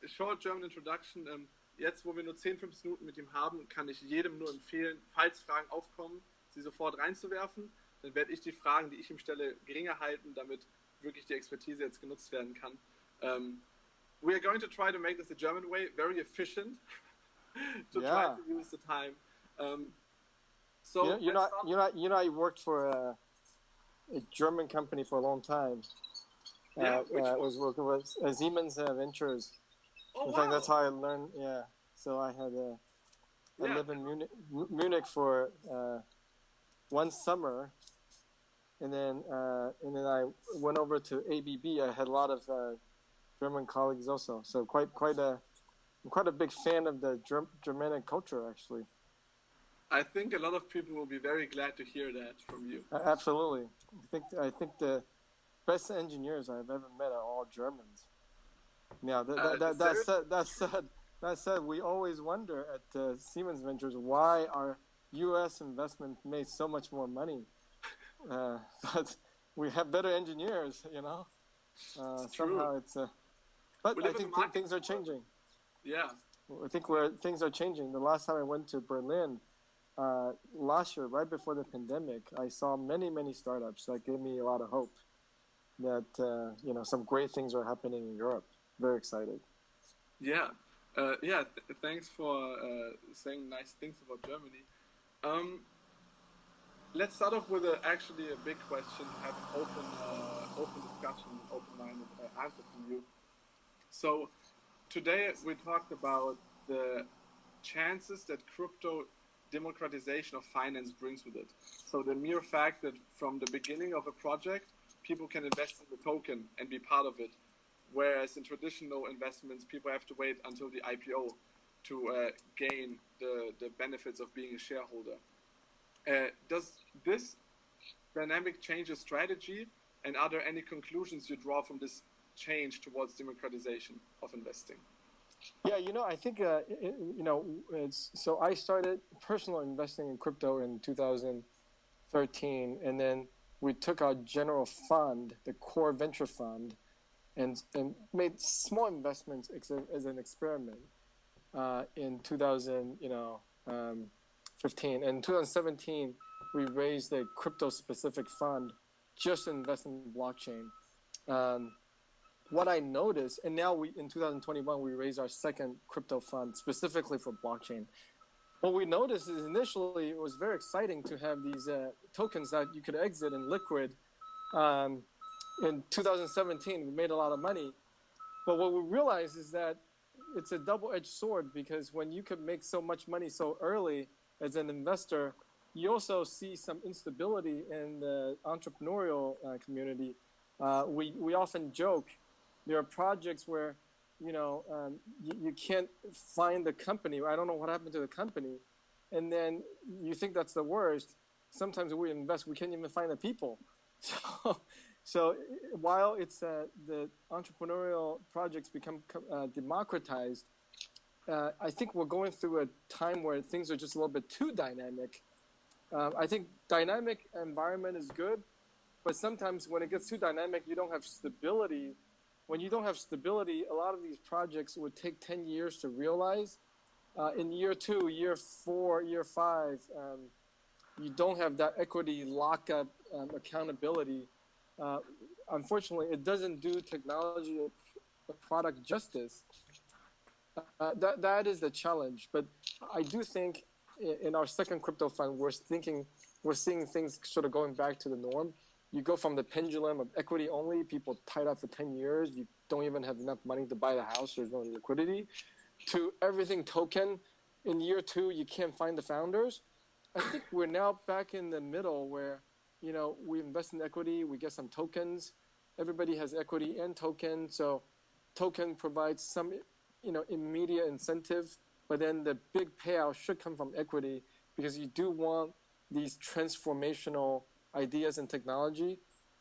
short German introduction. Jetzt, wo wir nur 10, 15 Minuten mit ihm haben, kann ich jedem nur empfehlen, falls Fragen aufkommen, sie sofort reinzuwerfen. Dann werde ich die Fragen, die ich ihm stelle, geringer halten, damit wirklich die Expertise jetzt genutzt werden kann. We are going to try to make this the German way, very efficient, to try to use the time. So I worked for a German company for a long time. I was working with Siemens Ventures. In fact, that's how I learned. Yeah, so I had I lived in Munich for one summer, and then I went over to ABB. I had a lot of German colleagues also, so I'm quite a big fan of the Germanic culture, actually. I think a lot of people will be very glad to hear that from you. Absolutely, I think the best engineers I've ever met are all Germans. Yeah, that said, we always wonder at Siemens Ventures why our U.S. investment made so much more money, but we have better engineers, you know. Somehow it's but I think things are changing. Yeah, I think things are changing. The last time I went to Berlin, last year, right before the pandemic, I saw many startups that gave me a lot of hope that some great things are happening in Europe. Very excited. Yeah, thanks for saying nice things about Germany. Let's start off with actually a big question, have an open discussion, open-minded answer from you. So today we talked about the chances that crypto democratization of finance brings with it. So the mere fact that from the beginning of a project, people can invest in the token and be part of it. Whereas in traditional investments, people have to wait until the IPO to gain the benefits of being a shareholder. Does this dynamic change your strategy? And are there any conclusions you draw from this change towards democratization of investing? Yeah, I think, so I started personal investing in crypto in 2013, and then we took our general fund, the core venture fund, and made small investments as an experiment in 2015. And in 2017, we raised a crypto-specific fund just to invest in blockchain. What I noticed, and now in 2021, we raised our second crypto fund specifically for blockchain. What we noticed is initially it was very exciting to have these tokens that you could exit in liquid. In 2017, we made a lot of money. But what we realized is that it's a double-edged sword, because when you could make so much money so early as an investor, you also see some instability in the entrepreneurial community. We often joke there are projects where you can't find the company. I don't know what happened to the company. And then you think that's the worst. Sometimes we invest, we can't even find the people. So while it's the entrepreneurial projects become democratized, I think we're going through a time where things are just a little bit too dynamic. I think dynamic environment is good, but sometimes when it gets too dynamic, you don't have stability. When you don't have stability, a lot of these projects would take 10 years to realize. In year 2, year 4, year 5, you don't have that equity lockup accountability. Unfortunately, it doesn't do technology or product justice. That is the challenge. But I do think in our second crypto fund, we're seeing things sort of going back to the norm. You go from the pendulum of equity only, people tied up for 10 years, you don't even have enough money to buy the house, there's no liquidity, to everything token. In year 2, you can't find the founders. I think we're now back in the middle where, we invest in equity, we get some tokens. Everybody has equity and token, so token provides some, immediate incentive, but then the big payout should come from equity, because you do want these transformational ideas and technology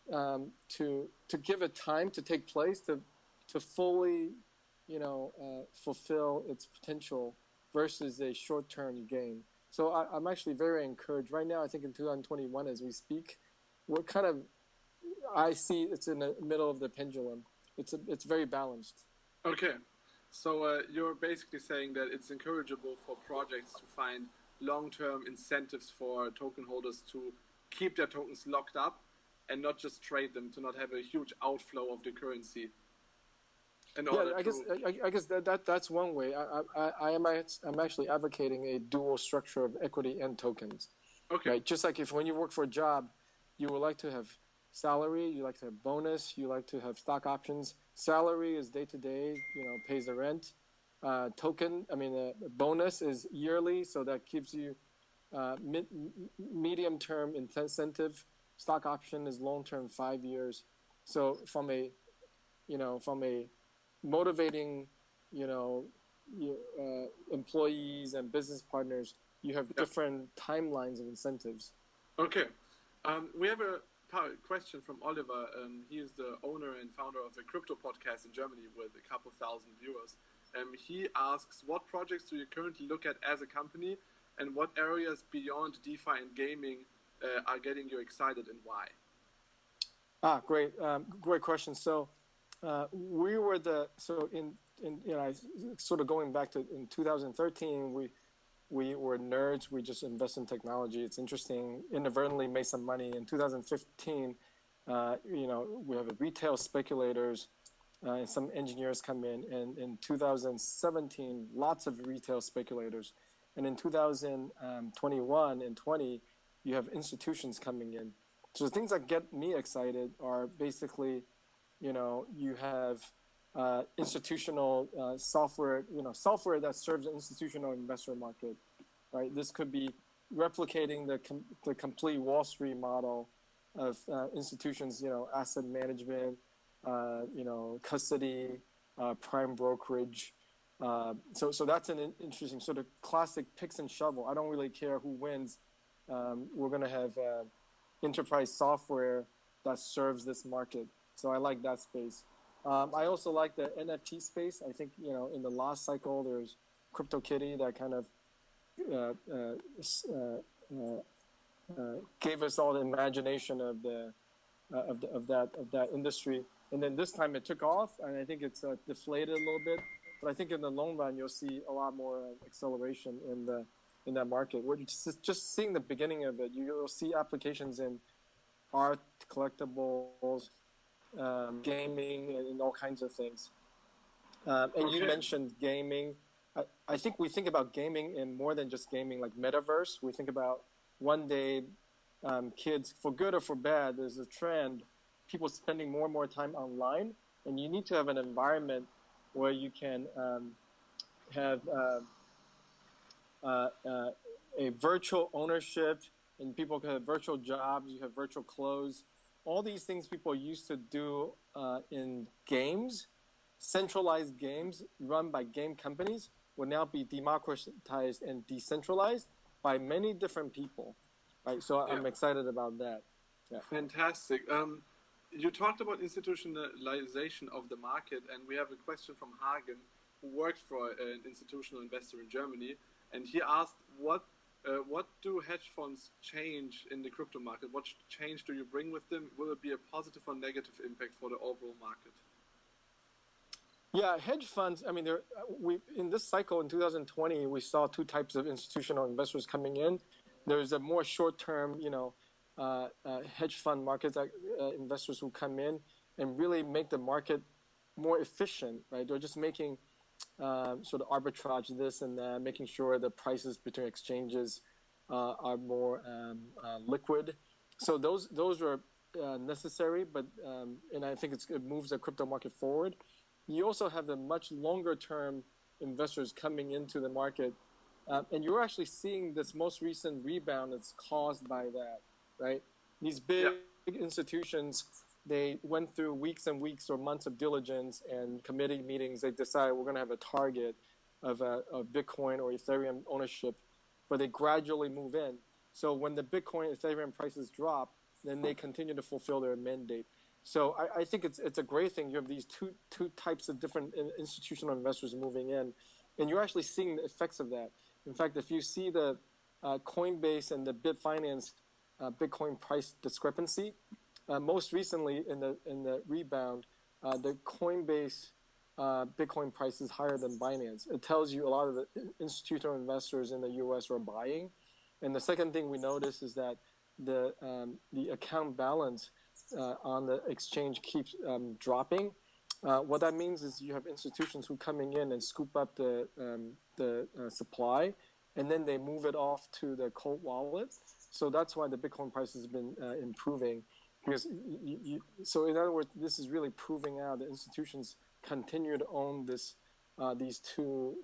to give it time to take place to fully fulfill its potential versus a short-term gain. So I'm actually very encouraged right now. I think in 2021, as we speak, I see it's in the middle of the pendulum. It's very balanced. Okay, So you're basically saying that it's encourageable for projects to find long-term incentives for token holders to keep their tokens locked up and not just trade them, to not have a huge outflow of the currency. I guess that's one way. I'm actually advocating a dual structure of equity and tokens. Okay. Right? Just like if when you work for a job, you would like to have salary, you like to have bonus, you like to have stock options. Salary is day to day, pays the rent. Bonus is yearly, so that gives you medium term incentive. Stock option is long term, 5 years. So from a motivating, employees and business partners, you have different timelines of incentives. Okay. We have a question from Oliver. He is the owner and founder of a crypto podcast in Germany with a couple thousand viewers. He asks, what projects do you currently look at as a company, and what areas beyond DeFi and gaming are getting you excited, and why? Great question. So we were sort of going back to in 2013, we were nerds. We just invest in technology. It's interesting. Inadvertently made some money. In 2015, we have retail speculators and some engineers come in. And in 2017, lots of retail speculators. And in 2021 and 20, you have institutions coming in. So the things that get me excited are basically, you have institutional software, software that serves the institutional investor market, right? This could be replicating the complete Wall Street model of institutions, asset management, custody, prime brokerage. So that's an interesting sort of classic picks and shovel. I don't really care who wins. We're going to have enterprise software that serves this market. So I like that space. I also like the NFT space. I think, in the last cycle, there's CryptoKitty that kind of gave us all the imagination of that industry. And then this time it took off, and I think it's deflated a little bit. But I think in the long run, you'll see a lot more acceleration in that market. We're just seeing the beginning of it. You'll see applications in art, collectibles, gaming, and all kinds of things. And you mentioned gaming. I think we think about gaming in more than just gaming, like metaverse. We think about one day kids, for good or for bad, there's a trend, people spending more and more time online, and you need to have an environment where you can have a virtual ownership, and people can have virtual jobs, you have virtual clothes. All these things people used to do in games, centralized games run by game companies, will now be democratized and decentralized by many different people. Right, so I'm excited about that. Yeah. Fantastic. You talked about institutionalization of the market, and we have a question from Hagen, who works for an institutional investor in Germany, and he asked, what do hedge funds change in the crypto market? What change do you bring with them? Will it be a positive or negative impact for the overall market? Yeah, hedge funds, in this cycle in 2020, we saw two types of institutional investors coming in. There's a more short-term, hedge fund markets, investors who come in and really make the market more efficient, right? They're just making sort of arbitrage this and that, making sure the prices between exchanges are more liquid. So those are necessary, but and I think it moves the crypto market forward. You also have the much longer-term investors coming into the market, and you're actually seeing this most recent rebound that's caused by that, right? These big institutions, they went through weeks and weeks or months of diligence and committee meetings. They decided we're going to have a target of Bitcoin or Ethereum ownership, but they gradually move in. So when the Bitcoin, Ethereum prices drop, then they continue to fulfill their mandate. So I think it's a great thing. You have these two types of different institutional investors moving in, and you're actually seeing the effects of that. In fact, if you see the Coinbase and the Bitfinex Bitcoin price discrepancy, most recently in the rebound, the Coinbase Bitcoin prices higher than Binance. It tells you a lot of the institutional investors in the U.S. are buying. And the second thing we notice is that the account balance on the exchange keeps dropping. What that means is you have institutions who coming in and scoop up the supply, and then they move it off to the cold wallet. So that's why the Bitcoin price has been improving. Because so in other words, this is really proving out that institutions continue to own these two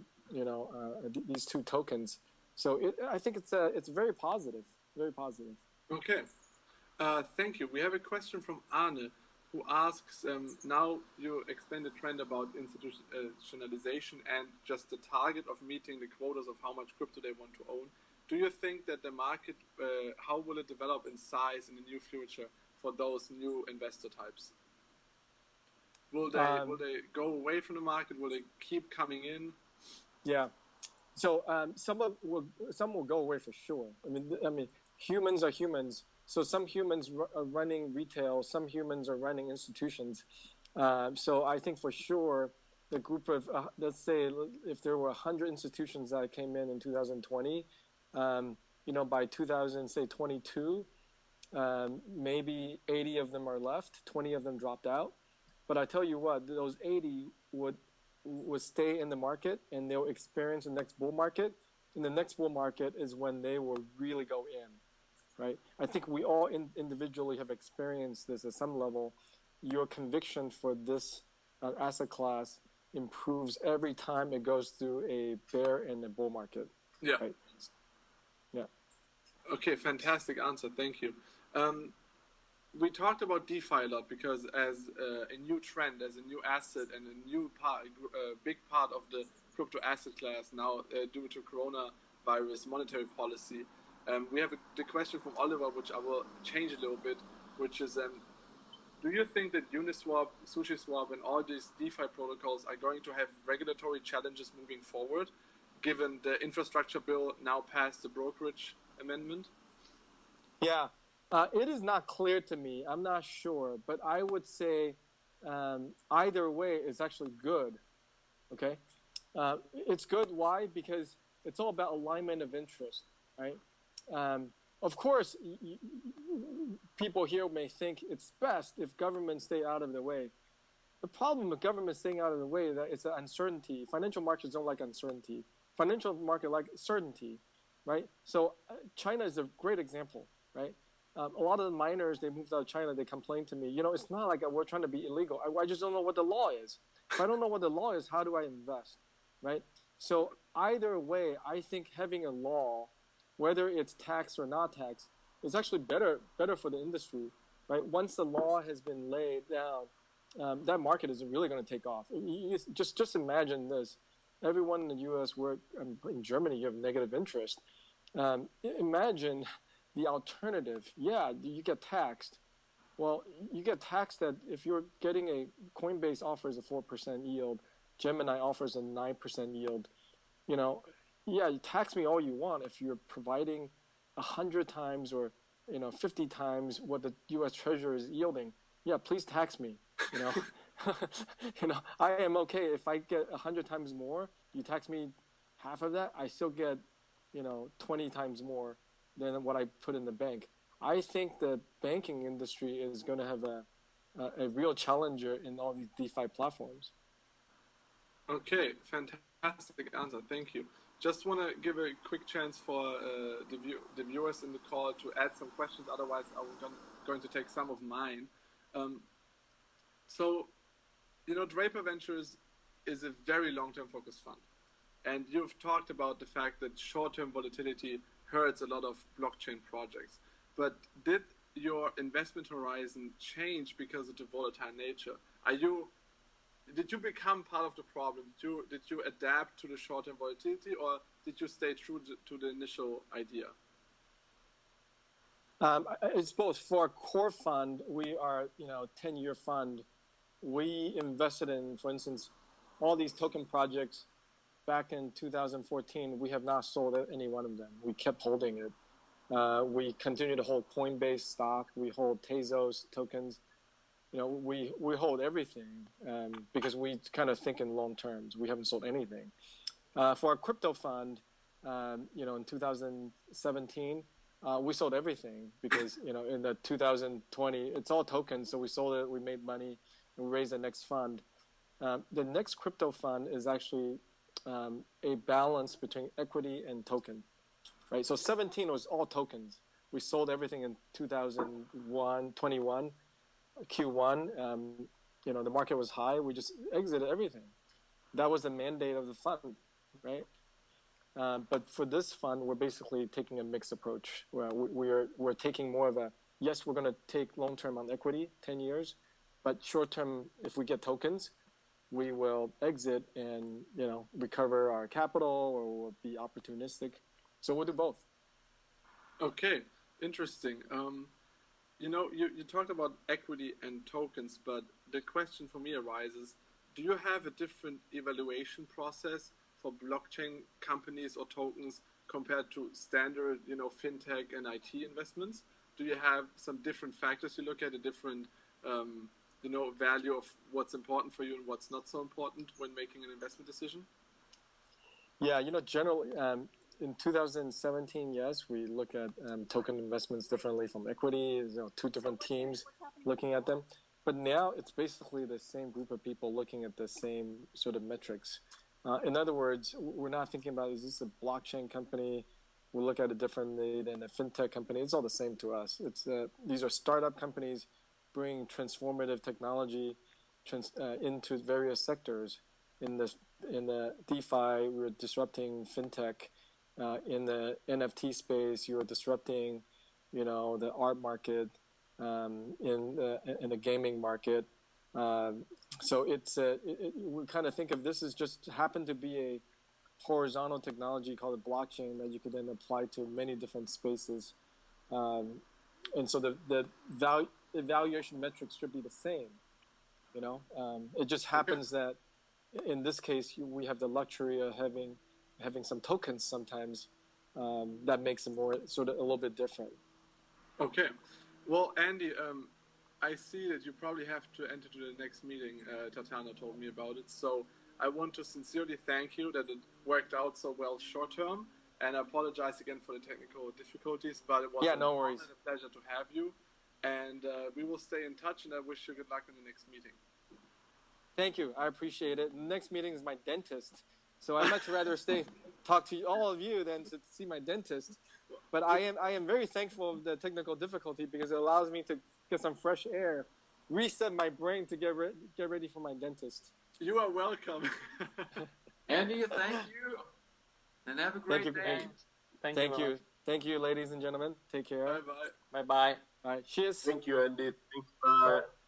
tokens. So I think it's very positive, very positive. Okay, thank you. We have a question from Arne, who asks, now you explained the trend about institutionalization and just the target of meeting the quotas of how much crypto they want to own. Do you think that the market, how will it develop in size in the near future for those new investor types? Will they go away from the market? Will they keep coming in? Yeah. So some will go away for sure. I mean, humans are humans. So some humans are running retail, some humans are running institutions. So I think for sure the group of, let's say, if there were 100 institutions that came in 2020, by 2022, maybe 80 of them are left, 20 of them dropped out. But I tell you what, those 80 would stay in the market and they'll experience the next bull market. And the next bull market is when they will really go in. Right? I think we all individually have experienced this at some level. Your conviction for this asset class improves every time it goes through a bear and a bull market. Yeah. Right? Yeah. Okay, fantastic answer. Thank you. We talked about DeFi a lot because as a new trend, as a new asset and a new big part of the crypto asset class now due to coronavirus monetary policy, we have the question from Oliver, which I will change a little bit, which is, do you think that Uniswap, SushiSwap, and all these DeFi protocols are going to have regulatory challenges moving forward, given the infrastructure bill now passed the brokerage amendment? Yeah, it is not clear to me. I'm not sure, but I would say either way is actually good. Okay, it's good. Why? Because it's all about alignment of interest, right? Of course, people here may think it's best if governments stay out of the way. The problem with government staying out of the way is that it's an uncertainty. Financial markets don't like uncertainty. Financial market like certainty, right? So China is a great example, right? A lot of the miners, they moved out of China, they complain to me, it's not like we're trying to be illegal. I just don't know what the law is. If I don't know what the law is, how do I invest, right? So either way, I think having a law, whether it's tax or not tax, is actually better for the industry, right? Once the law has been laid down, that market is really going to take off. Just imagine this. Everyone in the U.S. in Germany, you have negative interest. Imagine the alternative. Yeah, you get taxed. Well, you get taxed that if you're getting Coinbase offers a 4% yield, Gemini offers a 9% yield, yeah, you tax me all you want if you're providing 100 times or 50 times what the U.S. Treasury is yielding. Yeah, please tax me. I am okay if I get 100 times more. You tax me half of that, I still get 20 times more than what I put in the bank. I think the banking industry is going to have a real challenger in all these DeFi platforms. Okay, fantastic answer. Thank you. Just want to give a quick chance for the viewers in the call to add some questions. Otherwise, I'm going to take some of mine. So, Draper Ventures is a very long-term focused fund. And you've talked about the fact that short-term volatility hurts a lot of blockchain projects. But did your investment horizon change because of the volatile nature? Did you become part of the problem? Did you adapt to the short-term volatility, or did you stay true to the initial idea? It's both. For a core fund, we are 10-year fund. We invested in, for instance, all these token projects back in 2014. We have not sold any one of them. We kept holding it. We continue to hold Coinbase stock. We hold Tezos tokens. we hold everything because we kind of think in long terms. We haven't sold anything. For our crypto fund, in 2017, we sold everything because, in the 2020, it's all tokens. So we sold it, we made money, and we raised the next fund. The next crypto fund is actually a balance between equity and token, right? So 17 was all tokens. We sold everything in 2021, Q1. The market was high. We just exited everything. That was the mandate of the fund, right? But for this fund, we're basically taking a mixed approach. Where we're taking more of a, yes, we're going to take long-term on equity, 10 years, but short-term, if we get tokens, we will exit and, recover our capital, or we'll be opportunistic. So we'll do both. Okay, interesting. You talked about equity and tokens, but the question for me arises, do you have a different evaluation process for blockchain companies or tokens compared to standard, fintech and IT investments? Do you have some different factors you look at, a different, value of what's important for you and what's not so important when making an investment decision? Yeah, generally, in 2017, yes, we look at token investments differently from equity. Two different teams looking at them. But now it's basically the same group of people looking at the same sort of metrics. In other words, we're not thinking about, is this a blockchain company? We look at it differently than a fintech company. It's all the same to us. These are startup companies bringing transformative technology into various sectors. In the DeFi, we're disrupting fintech. In the NFT space, you're disrupting, the art market. In the gaming market. So we kind of think of this as just happened to be a horizontal technology called a blockchain that you could then apply to many different spaces. And so the evaluation metrics should be the same. It just happens that in this case, we have the luxury of having some tokens sometimes that makes it more sort of a little bit different. Okay. Well, Andy, I see that you probably have to enter to the next meeting. Tatiana told me about it. So I want to sincerely thank you that it worked out so well short term. And I apologize again for the technical difficulties, but it was no worries. A pleasure to have you. And we will stay in touch, and I wish you good luck in the next meeting. Thank you. I appreciate it. The next meeting is my dentist. So I'd much rather talk to all of you than to see my dentist. But I am very thankful of the technical difficulty because it allows me to get some fresh air, reset my brain to get ready for my dentist. You are welcome. Andy, thank you. And have a great day. Thank you. Thank you, ladies and gentlemen. Take care. Bye-bye. Bye-bye. All right. Cheers. Thank you, Andy. Thanks. Bye.